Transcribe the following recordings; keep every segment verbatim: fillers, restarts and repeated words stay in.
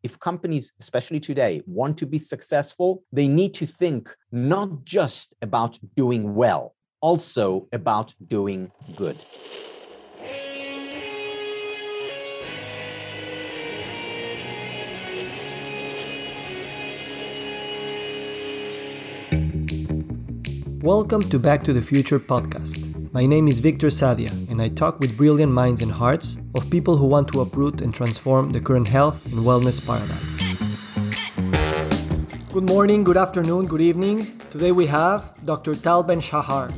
if companies, especially today, want to be successful, they need to think not just about doing well, also about doing good. Welcome to Back to the Future podcast. My name is Victor Sadia, and I talk with brilliant minds and hearts of people who want to uproot and transform the current health and wellness paradigm. Good morning, good afternoon, good evening. Today we have Doctor Tal Ben-Shahar.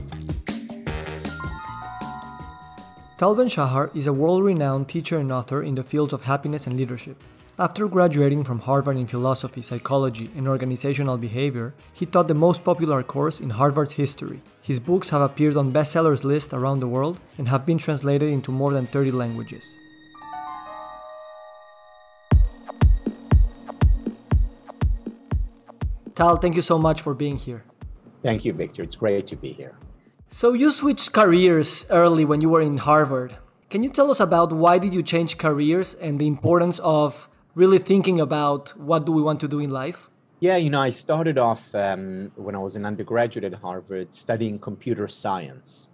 Tal Ben-Shahar is a world-renowned teacher and author in the fields of happiness and leadership. After graduating from Harvard in philosophy, psychology, and organizational behavior, he taught the most popular course in Harvard's history. His books have appeared on bestsellers lists around the world and have been translated into more than thirty languages. Tal, thank you so much for being here. Thank you, Victor. It's great to be here. So you switched careers early when you were in Harvard. Can you tell us about why did you change careers and the importance of really thinking about what do we want to do in life? Yeah, you know, I started off um, when I was an undergraduate at Harvard studying computer science.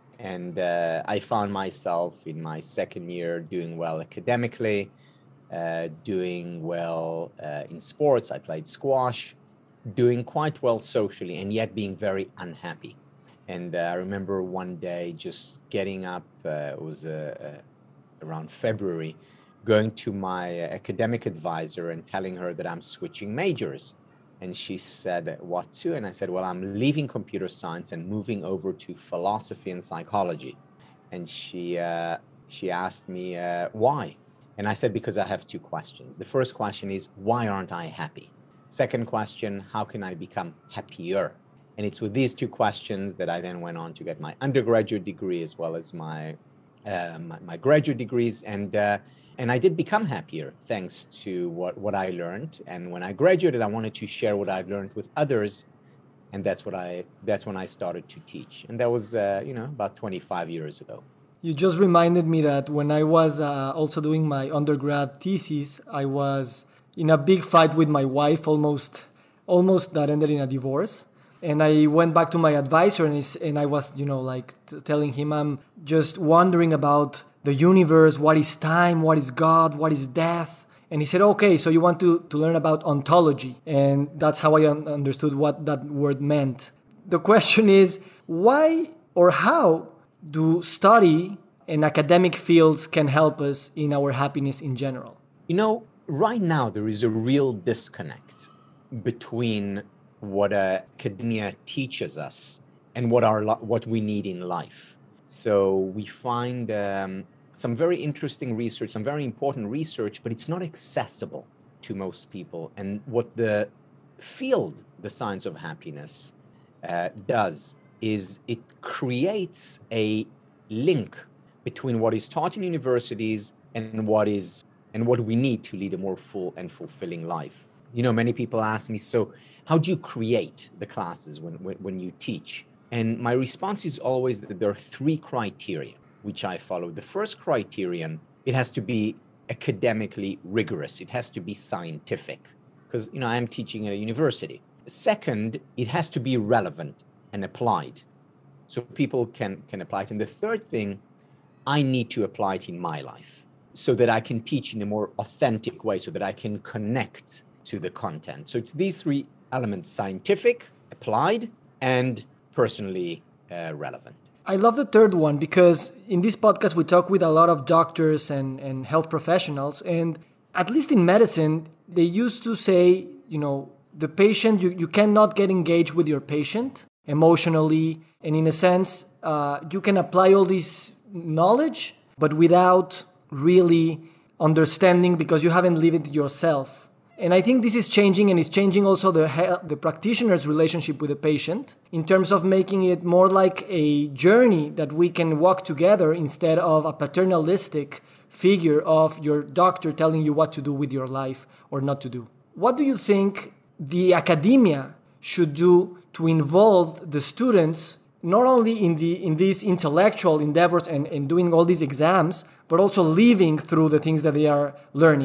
And uh, I found myself in my second year doing well academically, uh, doing well uh, in sports. I played squash, doing quite well socially, and yet being very unhappy. And uh, I remember one day just getting up, uh, it was uh, uh, around February, going to my academic advisor and telling her that I'm switching majors. And she said, what to? And I said, well, I'm leaving computer science and moving over to philosophy and psychology. And she uh, she asked me, uh, why? And I said, because I have two questions. The first question is, why aren't I happy? Second question, how can I become happier? And it's with these two questions that I then went on to get my undergraduate degree as well as my uh, my, my graduate degrees. And uh, And I did become happier thanks to what, what I learned. And when I graduated, I wanted to share what I've learned with others. And that's what I that's when I started to teach. And that was, uh, you know, about twenty-five years ago. You just reminded me that when I was uh, also doing my undergrad thesis, I was in a big fight with my wife, almost, almost that ended in a divorce. And I went back to my advisor and, and I was, you know, like t- telling him I'm just wondering about the universe, what is time, what is God, what is death. And he said, okay, so you want to, to learn about ontology. And that's how I un- understood what that word meant. The question is, why or how do study and academic fields can help us in our happiness in general? You know, right now there is a real disconnect between what uh, academia teaches us and what our what we need in life. So we find um, some very interesting research, some very important research, but it's not accessible to most people. And what the field, the science of happiness, uh, does is it creates a link between what is taught in universities and what is and what we need to lead a more full and fulfilling life. You know, many people ask me, so how do you create the classes when, when, when you teach? And my response is always that there are three criteria which I follow. The first criterion, it has to be academically rigorous. It has to be scientific because, you know, I am teaching at a university. Second, it has to be relevant and applied so people can, can apply it. And the third thing, I need to apply it in my life so that I can teach in a more authentic way, so that I can connect to the content. So it's these three elements: scientific, applied, and personally uh, relevant. I love the third one because in this podcast we talk with a lot of doctors and, and health professionals, and at least in medicine, they used to say, you know, the patient, you, you cannot get engaged with your patient emotionally, and in a sense, uh, you can apply all this knowledge, but without really understanding because you haven't lived it yourself. And I think this is changing, and it's changing also the the practitioner's relationship with the patient in terms of making it more like a journey that we can walk together instead of a paternalistic figure of your doctor telling you what to do with your life or not to do. What do you think the academia should do to involve the students not only in the in these intellectual endeavors and, and doing all these exams, but also living through the things that they are learning?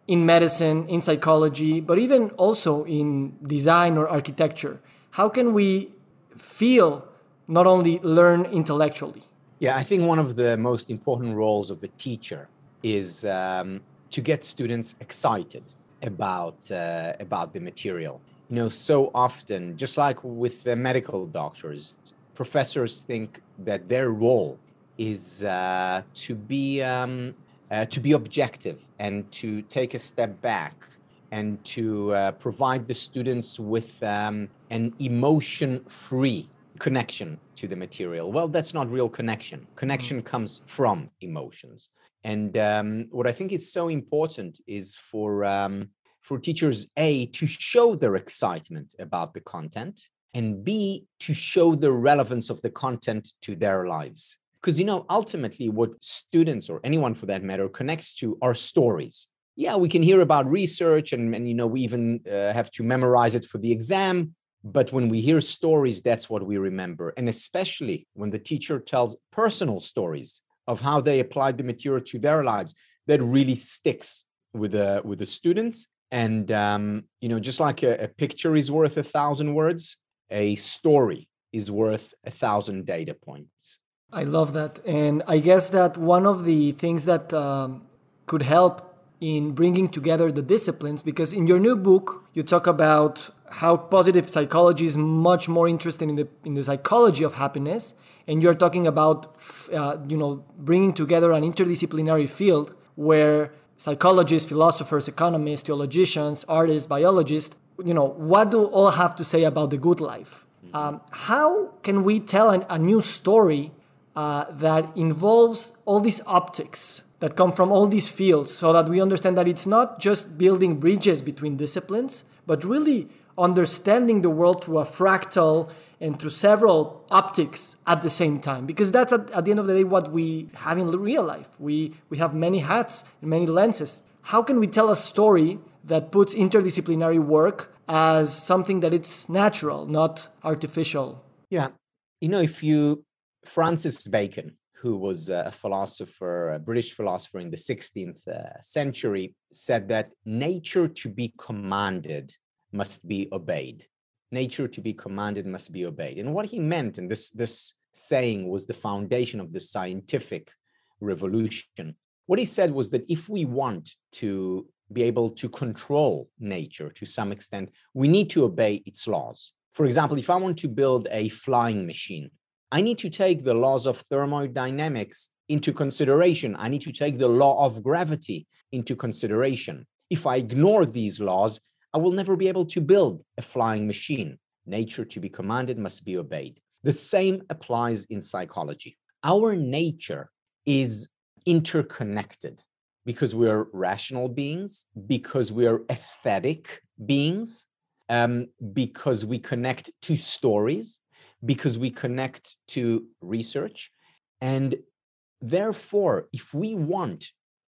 in medicine, in psychology, but even also in design or architecture? How can we feel, not only learn intellectually? Yeah, I think one of the most important roles of a teacher is um, to get students excited about uh, about the material. You know, so often, just like with the medical doctors, professors think that their role is uh, to be um, uh, to be objective and to take a step back and to uh, provide the students with um, an emotion-free connection to the material. Well, that's not real connection. Connection mm. comes from emotions. And um, what I think is so important is for um, for teachers, A, to show their excitement about the content, and B, to show the relevance of the content to their lives. Because, you know, ultimately what students, or anyone for that matter, connects to are stories. Yeah, we can hear about research and, and you know, we even uh, have to memorize it for the exam. But when we hear stories, that's what we remember. And especially when the teacher tells personal stories of how they applied the material to their lives, that really sticks with the, with the students. And, um, you know, just like a, a picture is worth a thousand words, a story is worth a thousand data points. I love that. And I guess that one of the things that um, could help in bringing together the disciplines, because in your new book, you talk about how positive psychology is much more interested in the in the psychology of happiness. And you're talking about, uh, you know, bringing together an interdisciplinary field where psychologists, philosophers, economists, theologians, artists, biologists, you know, what do all have to say about the good life? Mm-hmm. Um, how can we tell an, a new story uh, that involves all these optics that come from all these fields, so that we understand that it's not just building bridges between disciplines, but really understanding the world through a fractal and through several optics at the same time? Because that's at, at the end of the day what we have in real life. We we have many hats and many lenses. How can we tell a story that puts interdisciplinary work as something that it's natural, not artificial? Yeah, you know, if you, Francis Bacon, who was a philosopher, a British philosopher in the sixteenth uh, century, said that nature to be commanded must be obeyed. Nature to be commanded must be obeyed. And what he meant, and this, this saying was the foundation of the scientific revolution. What he said was that if we want to be able to control nature to some extent, we need to obey its laws. For example, if I want to build a flying machine, I need to take the laws of thermodynamics into consideration. I need to take the law of gravity into consideration. If I ignore these laws, I will never be able to build a flying machine. Nature to be commanded must be obeyed. The same applies in psychology. Our nature is interconnected because we're rational beings, because we're aesthetic beings, um, because we connect to stories, because we connect to research. And therefore, if we want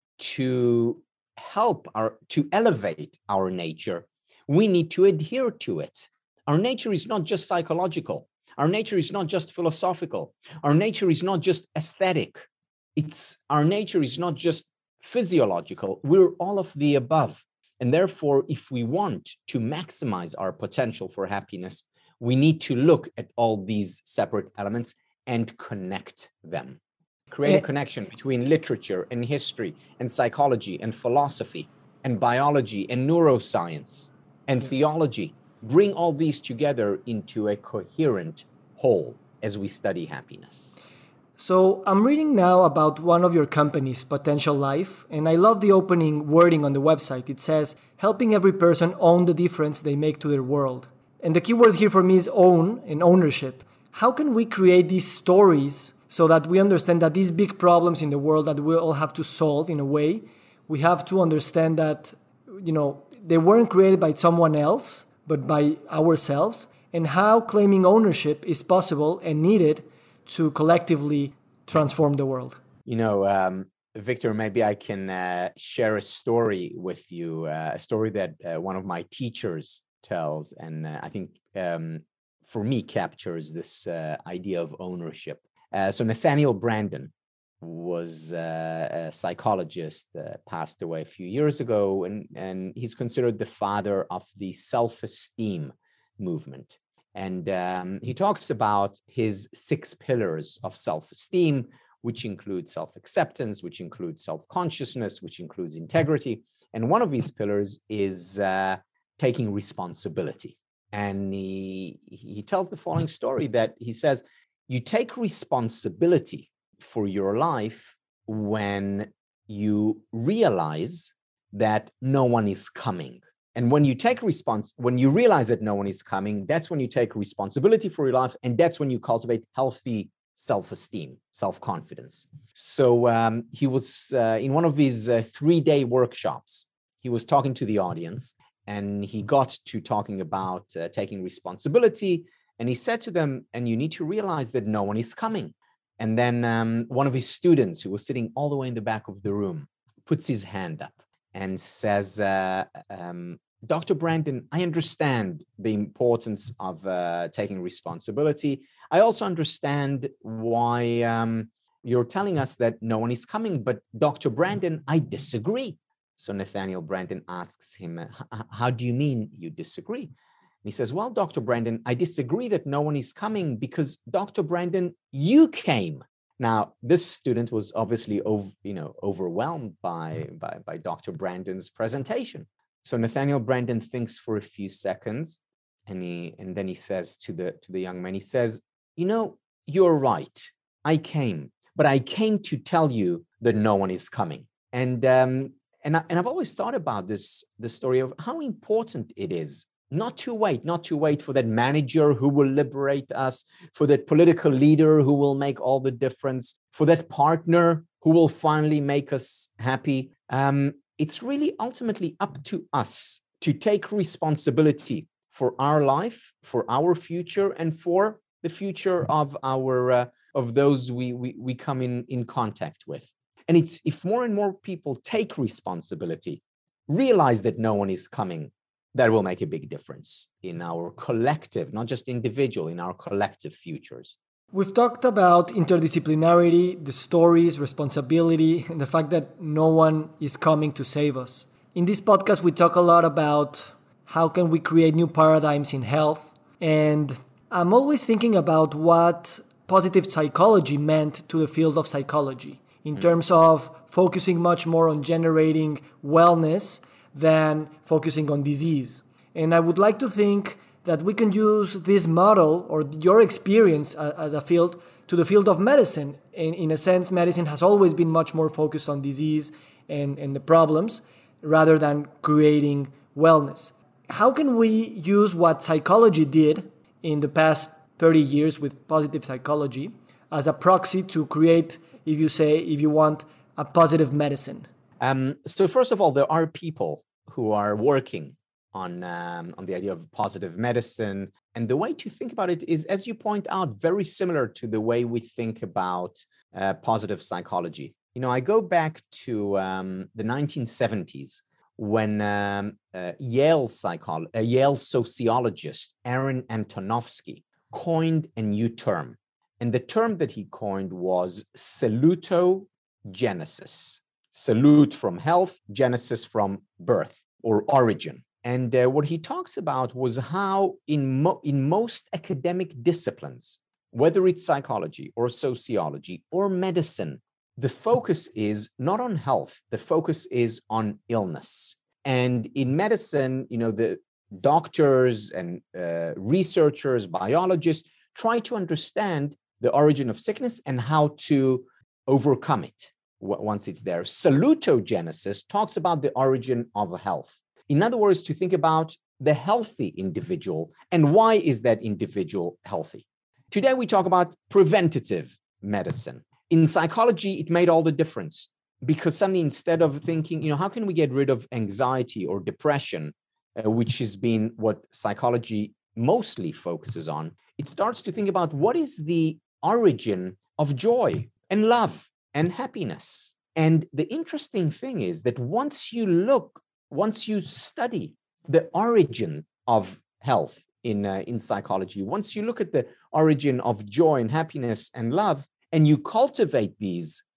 to help our, to elevate our nature, we need to adhere to it. Our nature is not just psychological. Our nature is not just philosophical. Our nature is not just aesthetic. It's, our nature is not just physiological. We're all of the above. And therefore, if we want to maximize our potential for happiness, we need to look at all these separate elements and connect them. Create a connection between literature and history and psychology and philosophy and biology and neuroscience and theology. Bring all these together into a coherent whole as we study happiness. So I'm reading now about one of your companies, Potential Life, and I love the opening wording on the website. It says, helping every person own the difference they make to their world. And the key word here for me is own and ownership. How can we create these stories so that we understand that these big problems in the world that we all have to solve in a way, we have to understand that, you know, they weren't created by someone else, but by ourselves, and how claiming ownership is possible and needed to collectively transform the world? You know, um, Victor, maybe I can uh, share a story with you, uh, a story that uh, one of my teachers tells, and uh, I think um, for me captures this uh, idea of ownership. Uh, so Nathaniel Branden was uh, a psychologist, uh, passed away a few years ago, and, and he's considered the father of the self-esteem movement. And um, he talks about his six pillars of self-esteem, which include self-acceptance, which includes self-consciousness, which includes integrity. And one of these pillars is uh, taking responsibility. And he, he tells the following story that he says, you take responsibility for your life when you realize that no one is coming. And when you take response, when you realize that no one is coming, that's when you take responsibility for your life. And that's when you cultivate healthy self-esteem, self-confidence. So um, he was uh, in one of these uh, three-day workshops. He was talking to the audience, and he got to talking about uh, taking responsibility. And he said to them, and you need to realize that no one is coming. And then um, one of his students, who was sitting all the way in the back of the room, puts his hand up and says, uh, um, Doctor Brandon, I understand the importance of uh, taking responsibility. I also understand why um, you're telling us that no one is coming, but Doctor Brandon, I disagree. So Nathaniel Branden asks him, how do you mean you disagree? And he says, well, Doctor Brandon, I disagree that no one is coming because Doctor Brandon, you came. Now, this student was obviously over, you know, overwhelmed by, by, by Doctor Brandon's presentation. So Nathaniel Branden thinks for a few seconds, and he and then he says to the to the young man, he says, you know, you're right. I came, but I came to tell you that no one is coming. And um, and I, and I've always thought about this the story of how important it is not to wait, not to wait for that manager who will liberate us, for that political leader who will make all the difference, for that partner who will finally make us happy. Um, it's really ultimately up to us to take responsibility for our life, for our future, and for the future of our uh, of those we, we we come in in contact with. And it's if more and more people take responsibility, realize that no one is coming, that will make a big difference in our collective, not just individual, in our collective futures. We've talked about interdisciplinarity, the stories, responsibility, and the fact that no one is coming to save us. In this podcast, we talk a lot about how can we create new paradigms in health. And I'm always thinking about what positive psychology meant to the field of psychology in mm-hmm. terms of focusing much more on generating wellness than focusing on disease. And I would like to think that we can use this model or your experience as a field to the field of medicine. In, in a sense, medicine has always been much more focused on disease and, and the problems rather than creating wellness. How can we use what psychology did in the past thirty years with positive psychology as a proxy to create, if you say, if you want, a positive medicine? Um, so first of all, there are people who are working on, um, on the idea of positive medicine. And the way to think about it is, as you point out, very similar to the way we think about uh, positive psychology. You know, I go back to um, the nineteen seventies when um, uh, Yale, psycholo- uh, Yale sociologist Aaron Antonovsky coined a new term. And the term that he coined was salutogenesis. Salute from health, genesis from birth or origin. And uh, what he talks about was how in, mo- in most academic disciplines, whether it's psychology or sociology or medicine, the focus is not on health, the focus is on illness. And in medicine, you know, the doctors and uh, researchers, biologists try to understand the origin of sickness and how to overcome it once it's there. Salutogenesis talks about the origin of health. In other words, to think about the healthy individual and why is that individual healthy. Today, we talk about preventative medicine. In psychology, it made all the difference because suddenly instead of thinking, you know, how can we get rid of anxiety or depression, uh, which has been what psychology mostly focuses on, it starts to think about what is the origin of joy and love and happiness. And the interesting thing is that once you look, once you study the origin of health in, uh, in psychology, once you look at the origin of joy and happiness and love, and you cultivate these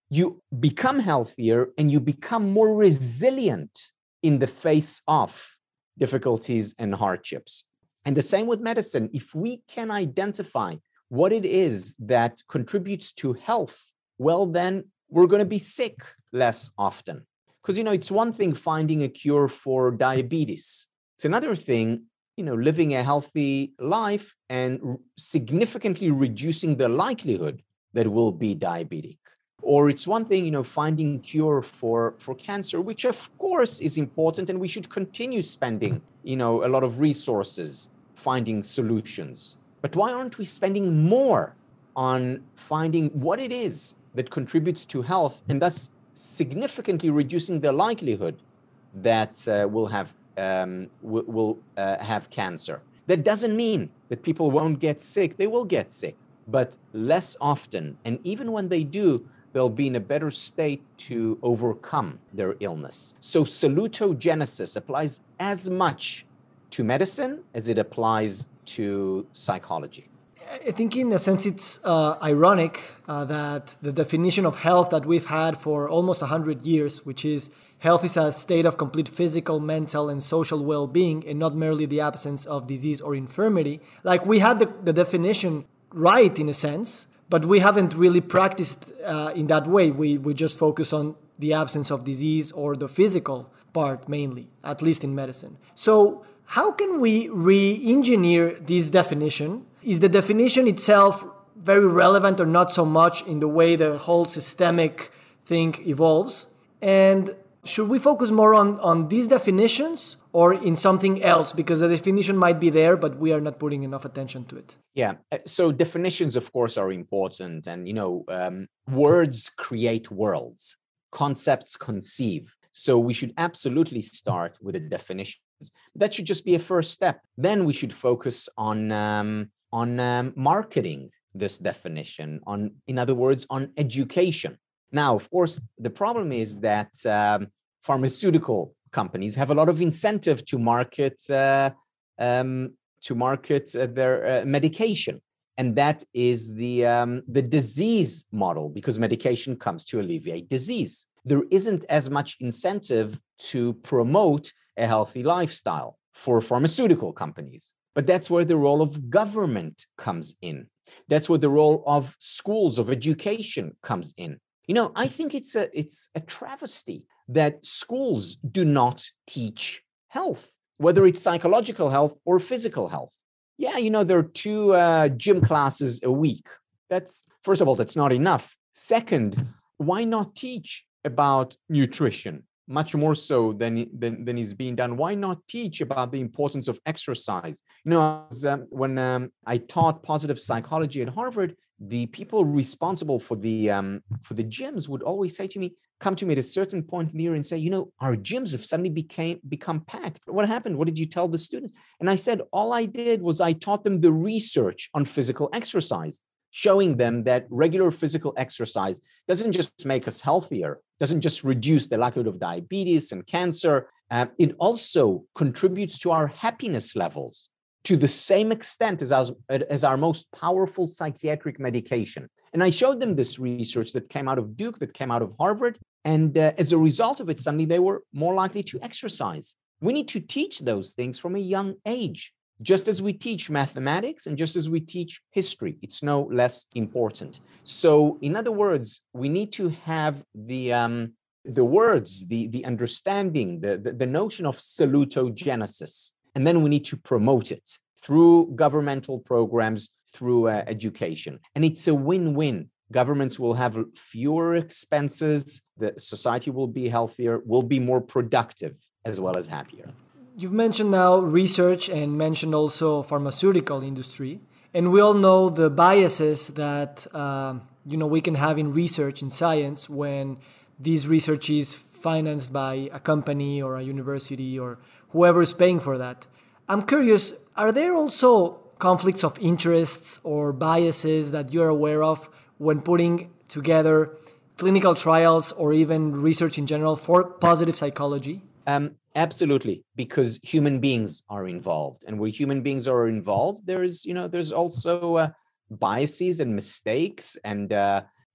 you become healthier and you become more resilient in the face of difficulties and hardships. And the same with medicine. If we can identify what it is that contributes to health, well, then we're going to be sick less often. Because, you know, it's one thing finding a cure for diabetes. It's another thing, you know, living a healthy life and r- significantly reducing the likelihood that we'll be diabetic. Or it's one thing, you know, finding cure for, for cancer, which of course is important, and we should continue spending, you know, a lot of resources finding solutions. But why aren't we spending more on finding what it is that contributes to health and thus significantly reducing the likelihood that uh, we'll have um, will, will uh, have cancer? That doesn't mean that people won't get sick. They will get sick, but less often. And even when they do, they'll be in a better state to overcome their illness. So salutogenesis applies as much to medicine as it applies to psychology. I think in a sense it's uh, ironic uh, that the definition of health that we've had for almost one hundred years, which is health is a state of complete physical, mental, and social well-being, and not merely the absence of disease or infirmity. Like we had the, the definition right in a sense, but we haven't really practiced uh, in that way. We, we just focus on the absence of disease or the physical part mainly, at least in medicine. So how can we re-engineer this definition? Is the definition itself very relevant or not so much in the way the whole systemic thing evolves? And should we focus more on, on these definitions or in something else? Because the definition might be there, but we are not putting enough attention to it. Yeah. So definitions, of course, are important. And, you know, um, words create worlds, concepts conceive. So we should absolutely start with a definition. That should just be a first step. Then we should focus on um, on um, marketing this definition, on, in other words, on education. Now, of course, the problem is that um, pharmaceutical companies have a lot of incentive to market uh, um, to market uh, their uh, medication, and that is the um, the disease model, because medication comes to alleviate disease. There isn't as much incentive to promote a healthy lifestyle for pharmaceutical companies. But that's where the role of government comes in. That's where the role of schools, of education comes in. You know, I think it's a it's a travesty that schools do not teach health, whether it's psychological health or physical health. Yeah, you know, there are two uh, gym classes a week. That's, first of all, that's not enough. Second, why not teach about nutrition? Much more so than, than, than is being done. Why not teach about the importance of exercise? You know, as, um, when um, I taught positive psychology at Harvard, the people responsible for the um, for the gyms would always say to me, come to me at a certain point in the year and say, you know, our gyms have suddenly became become packed. What happened? What did you tell the students? And I said, all I did was I taught them the research on physical exercise, showing them that regular physical exercise doesn't just make us healthier, doesn't just reduce the likelihood of diabetes and cancer. Uh, it also contributes to our happiness levels to the same extent as our, as our most powerful psychiatric medication. And I showed them this research that came out of Duke, that came out of Harvard. And uh, as a result of it, suddenly they were more likely to exercise. We need to teach those things from a young age. Just as we teach mathematics and just as we teach history, it's no less important. So in other words, we need to have the um, the words, the, the understanding, the, the, the notion of salutogenesis, and then we need to promote it through governmental programs, through uh, education. And it's a win-win. Governments will have fewer expenses, the society will be healthier, will be more productive, as well as happier. You've mentioned now research and mentioned also pharmaceutical industry. And we all know the biases that uh, you know we can have in research in science when this research is financed by a company or a university or whoever is paying for that. I'm curious, are there also conflicts of interests or biases that you're aware of when putting together clinical trials or even research in general for positive psychology? Um, absolutely, because human beings are involved, and where human beings are involved, there's, you know, there's also uh, biases and mistakes and uh,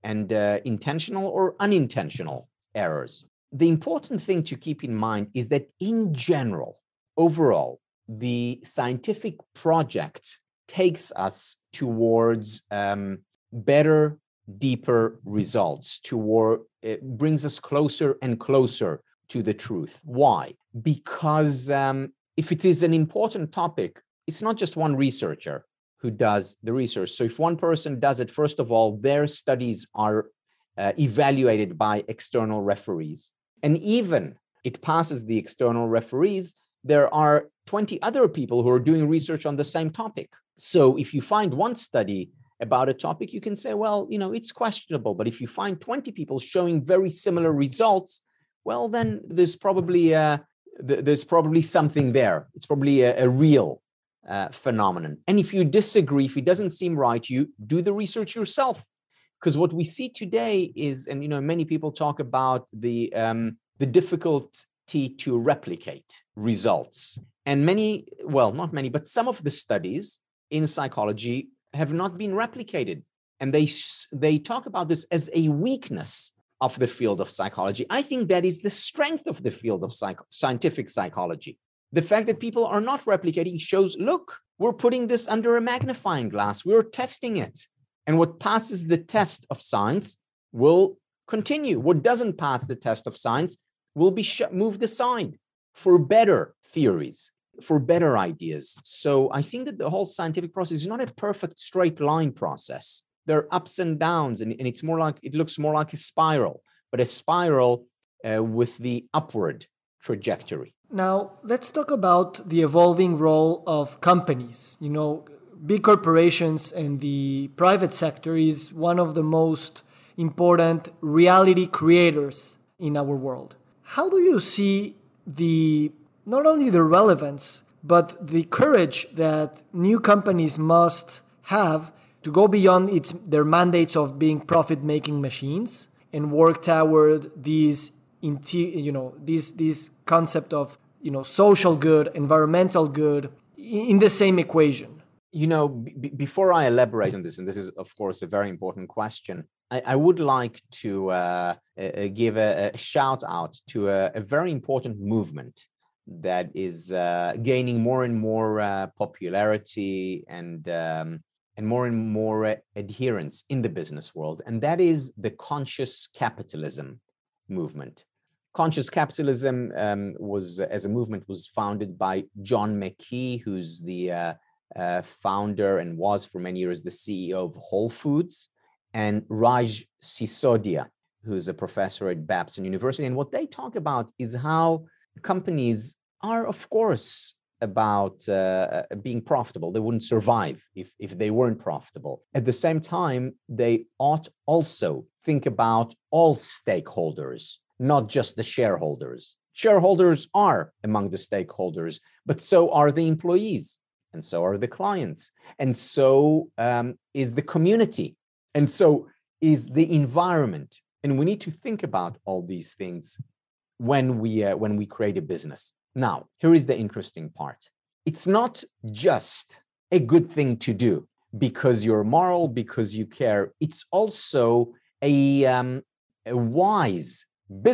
and uh, intentional or unintentional errors. The important thing to keep in mind is that in general, overall, the scientific project takes us towards um, better, deeper results, toward it brings us closer and closer to the truth. Why? Because um, if it is an important topic, it's not just one researcher who does the research. So if one person does it, first of all, their studies are uh, evaluated by external referees. And even it passes the external referees, there are twenty other people who are doing research on the same topic. So if you find one study about a topic, you can say, well, you know, it's questionable. But if you find twenty people showing very similar results, well, then there's probably uh, th- there's probably something there. It's probably a, a real uh, phenomenon. And if you disagree, if it doesn't seem right, you do the research yourself. Because what we see today is, and you know, many people talk about the um, the difficulty to replicate results. And many, well, not many, but some of the studies in psychology have not been replicated. And they they talk about this as a weakness of the field of psychology. I think that is the strength of the field of psych- scientific psychology. The fact that people are not replicating shows, look, we're putting this under a magnifying glass. We're testing it. And what passes the test of science will continue. What doesn't pass the test of science will be sh- moved aside for better theories, for better ideas. So I think that the whole scientific process is not a perfect straight line process. There are ups and downs, and, and it's more like, it looks more like a spiral, but a spiral uh, with the upward trajectory. Now, let's talk about the evolving role of companies. You know, big corporations and the private sector is one of the most important reality creators in our world. How do you see the not only the relevance, but the courage that new companies must have to go beyond its their mandates of being profit-making machines and work toward these, you know, this this concept of, you know, social good, environmental good in the same equation? You know, b- before I elaborate on this, and this is, of course, a very important question, I, I would like to uh, uh, give a, a shout out to a, a very important movement that is uh, gaining more and more uh, popularity and um, and more and more uh, adherence in the business world, and that is the conscious capitalism movement. Conscious capitalism um, was, as a movement, was founded by John McKee, who's the uh, uh, founder and was for many years the C E O of Whole Foods, and Raj Sisodia, who's a professor at Babson University. And what they talk about is how companies are, of course, about uh, being profitable. They wouldn't survive if, if they weren't profitable. At the same time, they ought also think about all stakeholders, not just the shareholders. Shareholders are among the stakeholders, but so are the employees, and so are the clients, and so um, is the community, and so is the environment. And we need to think about all these things when we uh, when we create a business. Now, here is the interesting part. It's not just a good thing to do because you're moral, because you care. It's also a, um, a wise,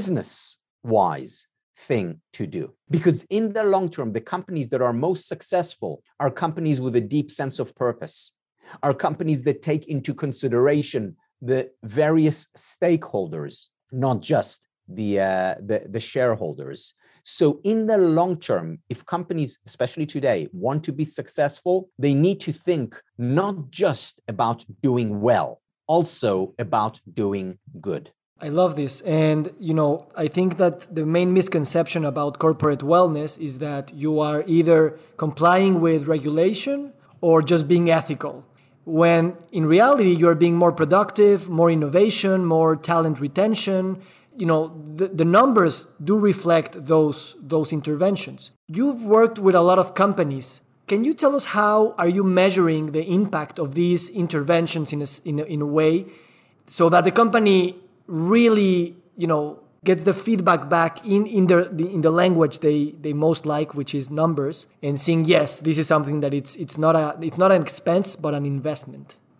business-wise thing to do. Because in the long term, the companies that are most successful are companies with a deep sense of purpose, are companies that take into consideration the various stakeholders, not just the, uh, the, the shareholders. So in the long term, if companies, especially today, want to be successful, they need to think not just about doing well, also about doing good. I love this. And, you know, I think that the main misconception about corporate wellness is that you are either complying with regulation or just being ethical, when in reality, you're being more productive, more innovation, more talent retention. You know, the, the numbers do reflect those, those interventions. You've worked with a lot of companies. Can you tell us how are you measuring the impact of these interventions in a, in a, in a way so that the company really, you know, gets the feedback back in, in, their, the, in the language they, they most like, which is numbers, and seeing, yes, this is something that it's it's not a it's not an expense, but an investment?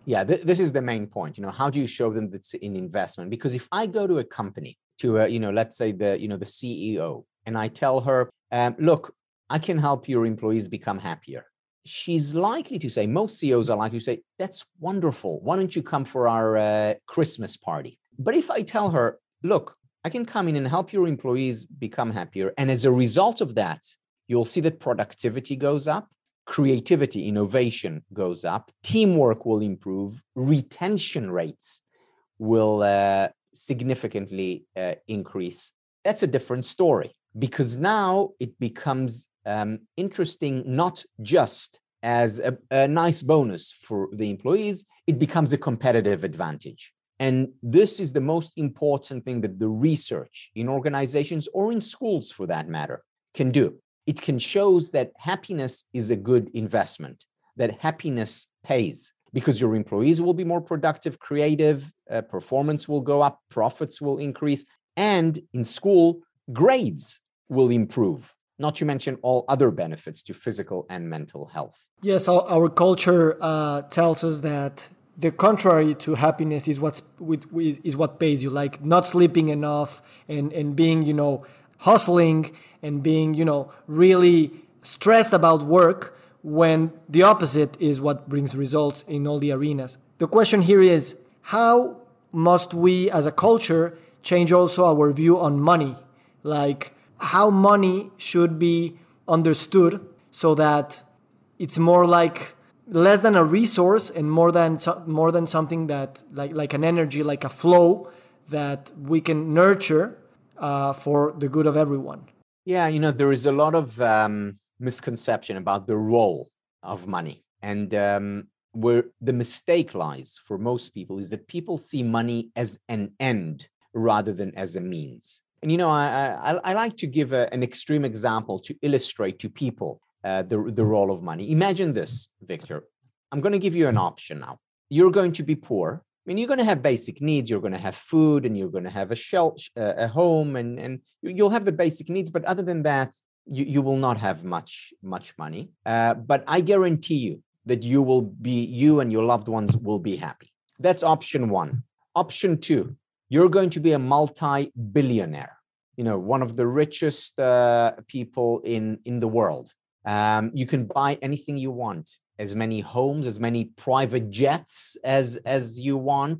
Yeah, th- this is the main point. You know, how do you show them that it's an investment? Because if I go to a company, to a, you know, let's say the, you know, the C E O, and I tell her, um, look, I can help your employees become happier. She's likely to say, most C E Os are likely to say, that's wonderful. Why don't you come for our uh, Christmas party? But if I tell her, look, I can come in and help your employees become happier, and as a result of that, you'll see that productivity goes up, creativity, innovation goes up, teamwork will improve, retention rates will uh, significantly uh, increase. That's a different story, because now it becomes um, interesting, not just as a, a nice bonus for the employees, it becomes a competitive advantage. And this is the most important thing that the research in organizations, or in schools for that matter, can do. It can show that happiness is a good investment, that happiness pays, because your employees will be more productive, creative, uh, performance will go up, profits will increase, and in school, grades will improve, not to mention all other benefits to physical and mental health. Yes, our, our culture uh, tells us that the contrary to happiness is what's is what pays you, like not sleeping enough and and being, you know, hustling and being, you know, really stressed about work, when the opposite is what brings results in all the arenas. The question here is, how must we as a culture change also our view on money? Like how money should be understood so that it's more like less than a resource and more than more than something that like like an energy, like a flow that we can nurture uh, for the good of everyone. Yeah, you know, there is a lot of um, misconception about the role of money, and um, where the mistake lies for most people is that people see money as an end rather than as a means. And you know, I I, I like to give a, an extreme example to illustrate to people Uh, the, the role of money. Imagine this, Victor. I'm going to give you an option now. You're going to be poor. I mean, you're going to have basic needs. You're going to have food, and you're going to have a shelter, uh, a home, and, and you'll have the basic needs. But other than that, you, you will not have much, much money. Uh, but I guarantee you that you will be, you and your loved ones will be happy. That's option one. Option two, you're going to be a multi-billionaire, you know, one of the richest uh, people in, in the world. Um, you can buy anything you want, as many homes, as many private jets as, as you want.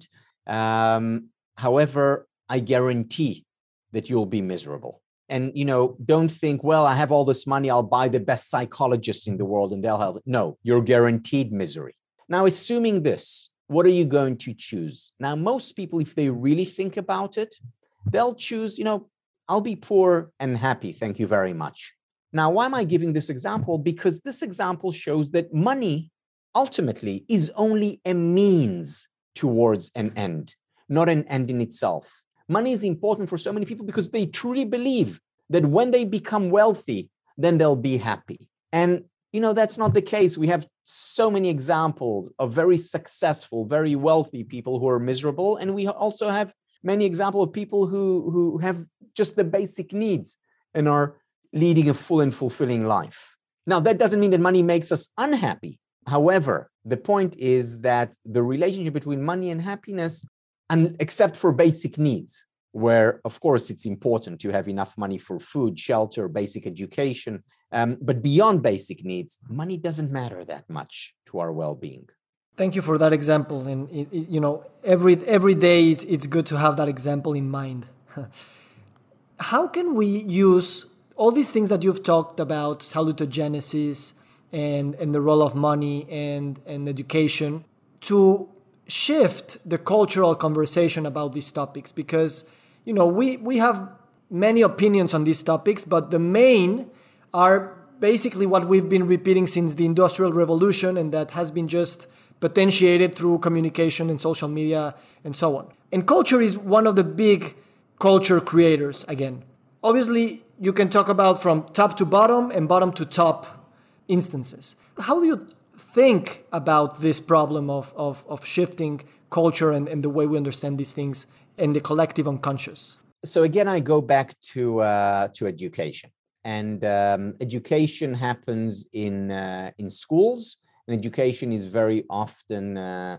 Um, however, I guarantee that you'll be miserable. And, you know, don't think, well, I have all this money, I'll buy the best psychologists in the world and they'll help. No, you're guaranteed misery. Now, assuming this, what are you going to choose? Now, most people, if they really think about it, they'll choose, you know, I'll be poor and happy, thank you very much. Now, why am I giving this example? Because this example shows that money ultimately is only a means towards an end, not an end in itself. Money is important for so many people because they truly believe that when they become wealthy, then they'll be happy. And, you know, that's not the case. We have so many examples of very successful, very wealthy people who are miserable. And we also have many examples of people who, who have just the basic needs and are leading a full and fulfilling life. Now, that doesn't mean that money makes us unhappy. However, the point is that the relationship between money and happiness, and except for basic needs, where, of course, it's important to have enough money for food, shelter, basic education, um, but beyond basic needs, money doesn't matter that much to our well-being. Thank you for that example. And, it, it, you know, every, every day it's, it's good to have that example in mind. How can we use all these things that you've talked about, salutogenesis and, and the role of money and, and education, to shift the cultural conversation about these topics? Because, you know, we, we have many opinions on these topics, but the main are basically what we've been repeating since the Industrial Revolution, and that has been just potentiated through communication and social media and so on. And culture is one of the big culture creators again. Obviously, you can talk about from top to bottom and bottom to top instances. How do you think about this problem of, of, of shifting culture and, and the way we understand these things in the collective unconscious? So again, I go back to uh, to education. And um, education happens in uh, in schools, and education is very often uh,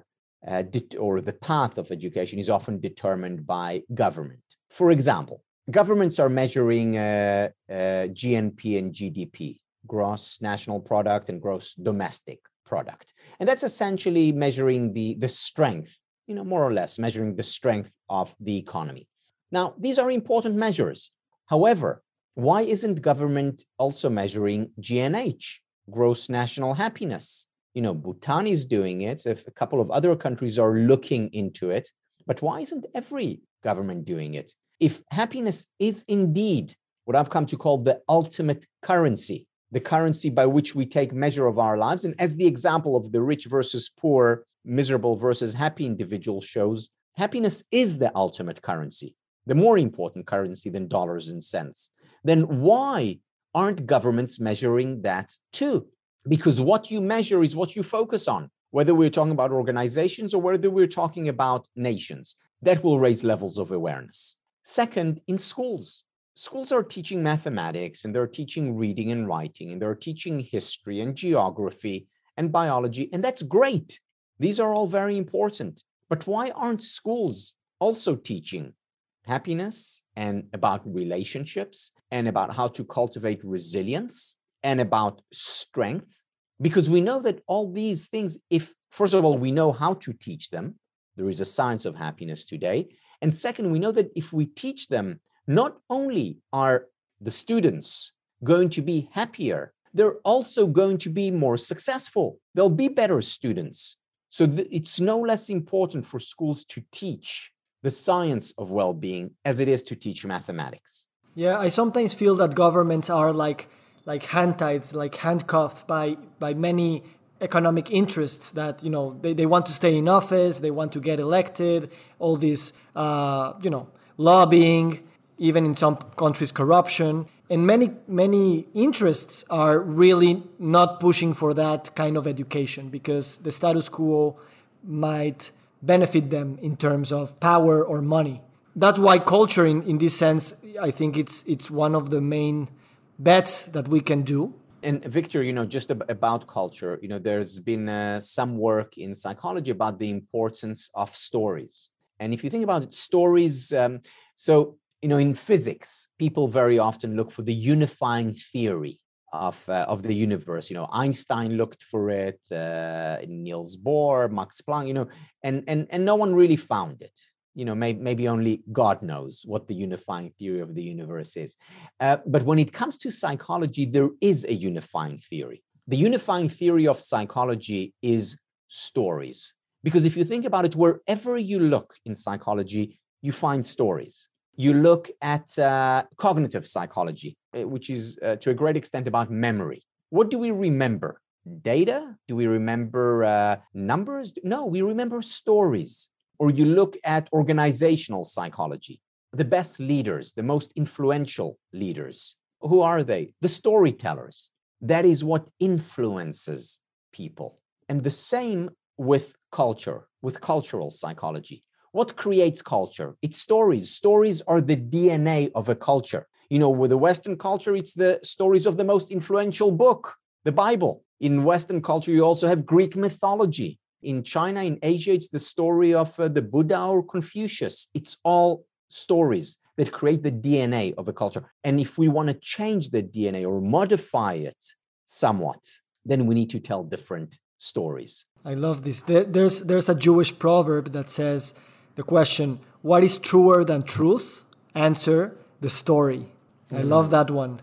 uh, det- or the path of education is often determined by government. For example, governments are measuring uh, uh, G N P and G D P, gross national product and gross domestic product. And that's essentially measuring the, the strength, you know, more or less measuring the strength of the economy. Now, these are important measures. However, why isn't government also measuring G N H, gross national happiness? You know, Bhutan is doing it. If a couple of other countries are looking into it, but why isn't every government doing it? If happiness is indeed what I've come to call the ultimate currency, the currency by which we take measure of our lives, and as the example of the rich versus poor, miserable versus happy individual shows, happiness is the ultimate currency, the more important currency than dollars and cents. Then why aren't governments measuring that too? Because what you measure is what you focus on, whether we're talking about organizations or whether we're talking about nations. That will raise levels of awareness. Second, in schools, schools are teaching mathematics and they're teaching reading and writing and they're teaching history and geography and biology, and that's great. These are all very important. But why aren't schools also teaching happiness and about relationships and about how to cultivate resilience and about strength? Because we know that all these things, if, first of all, we know how to teach them, there is a science of happiness today. And second, we know that if we teach them, not only are the students going to be happier, they're also going to be more successful. They'll be better students. So th- it's no less important for schools to teach the science of well-being as it is to teach mathematics. Yeah, I sometimes feel that governments are like like hand-tied, like handcuffed by by many economic interests that, you know, they, they want to stay in office, they want to get elected, all this, uh, you know, lobbying, even in some countries, corruption. And many, many interests are really not pushing for that kind of education because the status quo might benefit them in terms of power or money. That's why culture, in, in this sense, I think it's it's one of the main bets that we can do. And Victor, you know, just ab- about culture, you know, there's been uh, some work in psychology about the importance of stories. And if you think about it, stories, um, so, you know, in physics, people very often look for the unifying theory of, uh, of the universe. You know, Einstein looked for it, uh, Niels Bohr, Max Planck, you know, and, and, and no one really found it. You know, maybe, maybe only God knows what the unifying theory of the universe is. Uh, but when it comes to psychology, there is a unifying theory. The unifying theory of psychology is stories. Because if you think about it, wherever you look in psychology, you find stories. You look at uh, cognitive psychology, which is uh, to a great extent about memory. What do we remember? Data? Do we remember uh, numbers? No, we remember stories. Or you look at organizational psychology, the best leaders, the most influential leaders. Who are they? The storytellers. That is what influences people. And the same with culture, with cultural psychology. What creates culture? It's stories. Stories are the D N A of a culture. You know, with the Western culture, it's the stories of the most influential book, the Bible. In Western culture, you also have Greek mythology. In China, in Asia, it's the story of uh, the Buddha or Confucius. It's all stories that create the D N A of a culture. And if we want to change the D N A or modify it somewhat, then we need to tell different stories. I love this. There, there's, there's a Jewish proverb that says the question, what is truer than truth? Answer, the story. Mm. I love that one.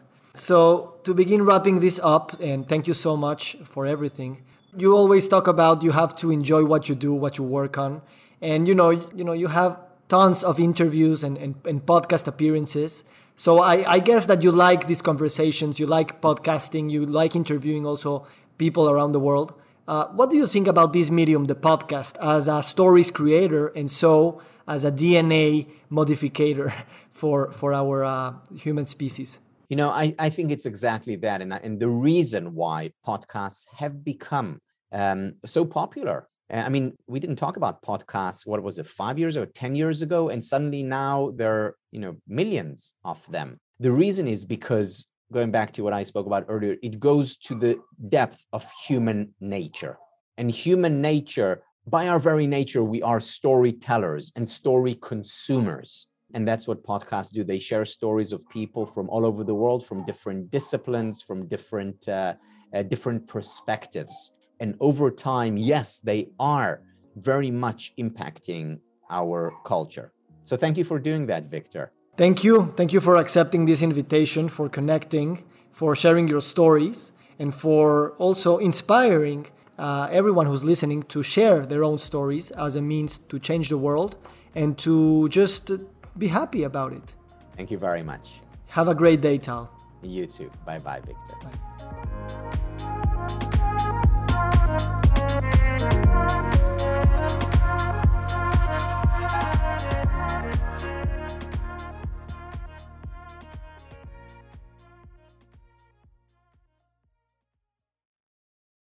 So to begin wrapping this up, and thank you so much for everything. You always talk about you have to enjoy what you do, what you work on. And, you know, you know, you have tons of interviews and, and, and podcast appearances. So I, I guess that you like these conversations, you like podcasting, you like interviewing also people around the world. Uh, what do you think about this medium, the podcast, as a stories creator and so as a D N A modificator for, for our uh, human species? You know, I, I think it's exactly that. And, and the reason why podcasts have become um, so popular. I mean, we didn't talk about podcasts, what was it, five years or ten years ago? And suddenly now there are, you know, millions of them. The reason is because, going back to what I spoke about earlier, it goes to the depth of human nature. And human nature by our very nature, we are storytellers and story consumers. And that's what podcasts do. They share stories of people from all over the world, from different disciplines, from different, uh, uh, different perspectives. And over time, yes, they are very much impacting our culture. So thank you for doing that, Victor. Thank you. Thank you for accepting this invitation, for connecting, for sharing your stories, and for also inspiring uh, everyone who's listening to share their own stories as a means to change the world and to just be happy about it. Thank you very much. Have a great day, Tal. You too. Bye-bye, Victor. Bye.